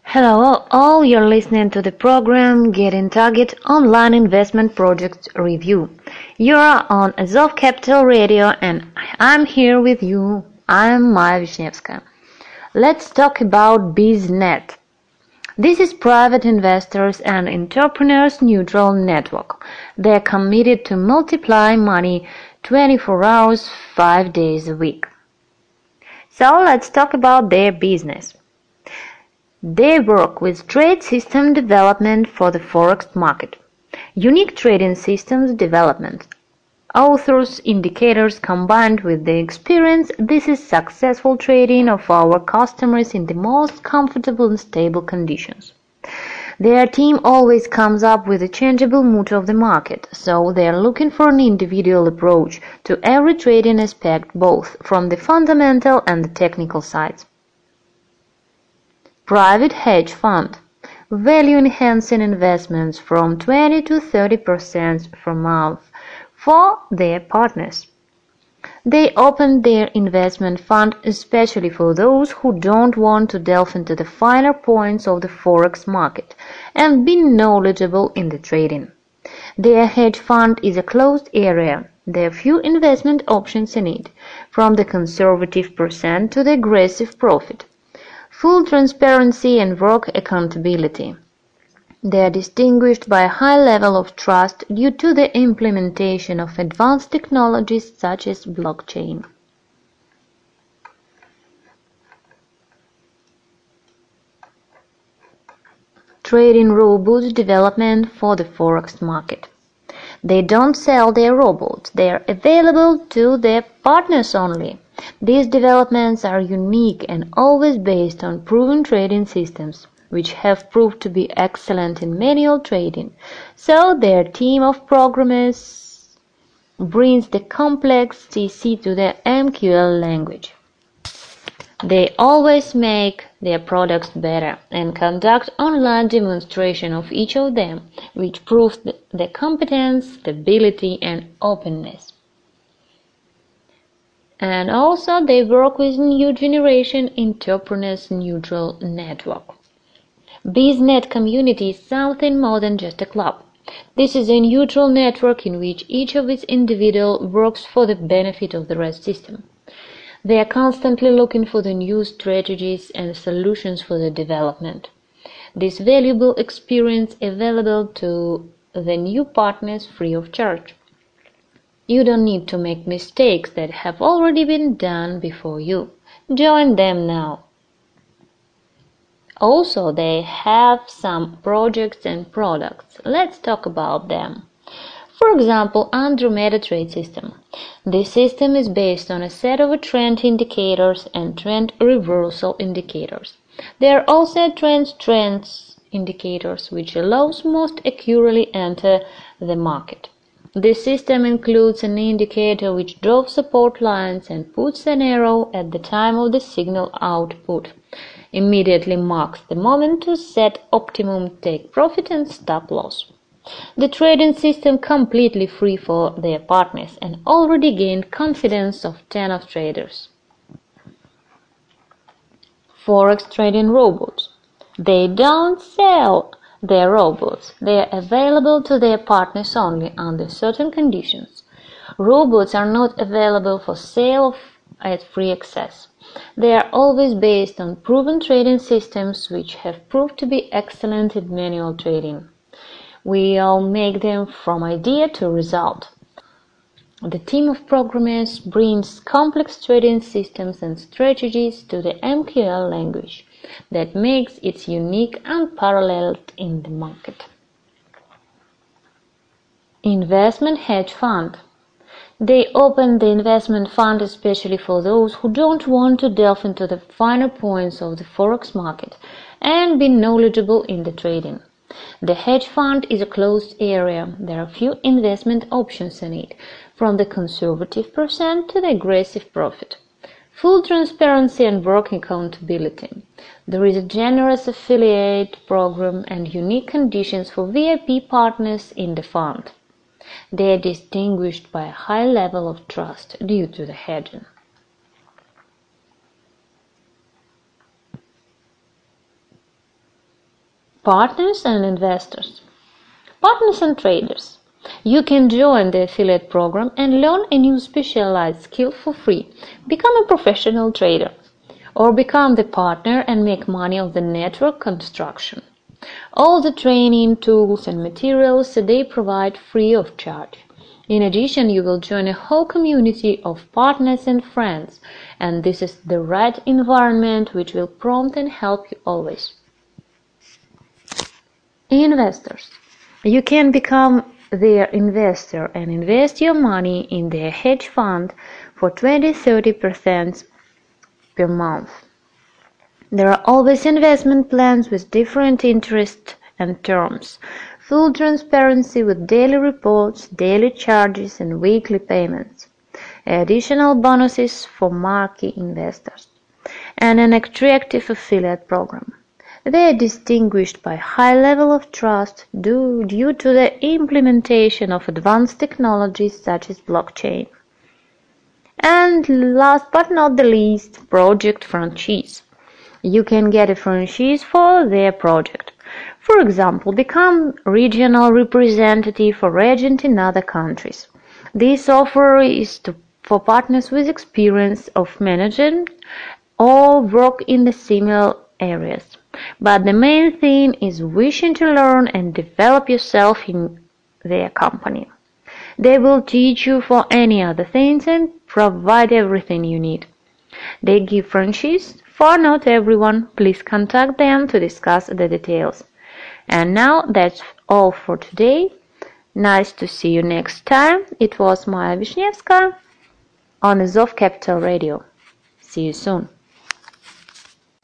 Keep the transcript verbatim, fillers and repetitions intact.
Hello all, you're listening to the program Getting Target Online Investment Projects Review. You're on Azov Capital Radio and I'm here with you. I'm Maya Vishnevskaya. Let's talk about BizNet. This is private investors and entrepreneurs neutral network. They're committed to multiply money twenty-four hours, five days a week. So let's talk about their business. They work with trade system development for the forex market, unique trading systems development, authors, indicators combined with the experience. This is successful trading of our customers in the most comfortable and stable conditions. Their team always comes up with a changeable mood of the market, so they are looking for an individual approach to every trading aspect, both from the fundamental and the technical sides. Private hedge fund, value-enhancing investments from twenty to thirty percent per month for their partners. They opened their investment fund especially for those who don't want to delve into the finer points of the forex market and be knowledgeable in the trading. Their hedge fund is a closed area. There are few investment options in it, from the conservative percent to the aggressive profit. Full transparency and work accountability. They are distinguished by a high level of trust due to the implementation of advanced technologies such as blockchain. Trading robots development for the forex market. They don't sell their robots, they are available to their partners only. These developments are unique and always based on proven trading systems, which have proved to be excellent in manual trading, so their team of programmers brings the complex C C to the M Q L language. They always make their products better and conduct online demonstration of each of them, which proves the competence, stability, and openness. And also they work with new generation entrepreneurs neutral network. BizNet community is something more than just a club. This is a neutral network in which each of its individual works for the benefit of the rest system. They are constantly looking for the new strategies and solutions for the development. This valuable experience available to the new partners free of charge. You don't need to make mistakes that have already been done before you. Join them now. Also, they have some projects and products. Let's talk about them. For example, Andromeda Trade System. This system is based on a set of trend indicators and trend reversal indicators. There are also trend trends indicators, which allows most accurately enter the market. This system includes an indicator which draws support lines and puts an arrow at the time of the signal output. Immediately marks the moment to set optimum take profit and stop loss. The trading system completely free for their partners and already gained confidence of ten of traders. Forex trading robots. They don't sell their robots. They are available to their partners only under certain conditions. Robots are not available for sale at free access. They are always based on proven trading systems which have proved to be excellent in manual trading. We all make them from idea to result. The team of programmers brings complex trading systems and strategies to the M Q L language that makes it unique and unparalleled in the market. Investment hedge fund. They open the investment fund especially for those who don't want to delve into the finer points of the forex market and be knowledgeable in the trading. The hedge fund is a closed area. There are few investment options in it, from the conservative percent to the aggressive profit. Full transparency and work accountability. There is a generous affiliate program and unique conditions for V I P partners in the fund. They are distinguished by a high level of trust due to the hedging. Partners and investors. Partners and traders. You can join the affiliate program and learn a new specialized skill for free. Become a professional trader, or become the partner and make money on the network construction. All the training, tools and materials they provide free of charge. In addition, you will join a whole community of partners and friends, and this is the right environment which will prompt and help you always. Investors. You can become their investor and invest your money in their hedge fund for twenty to thirty percent per month. There are always investment plans with different interests and terms, full transparency with daily reports, daily charges and weekly payments, additional bonuses for marquee investors, and an attractive affiliate program. They are distinguished by high level of trust due, due to the implementation of advanced technologies such as blockchain. And last but not the least, project franchise. You can get a franchise for their project. For example, become regional representative or agent in other countries. This offer is to, for partners with experience of managing or work in the similar areas. But the main thing is wishing to learn and develop yourself in their company. They will teach you for any other things and provide everything you need. They give franchise for not everyone. Please contact them to discuss the details. And now that's all for today. Nice to see you next time. It was Maya Vishnevska on Azov Capital Radio. See you soon.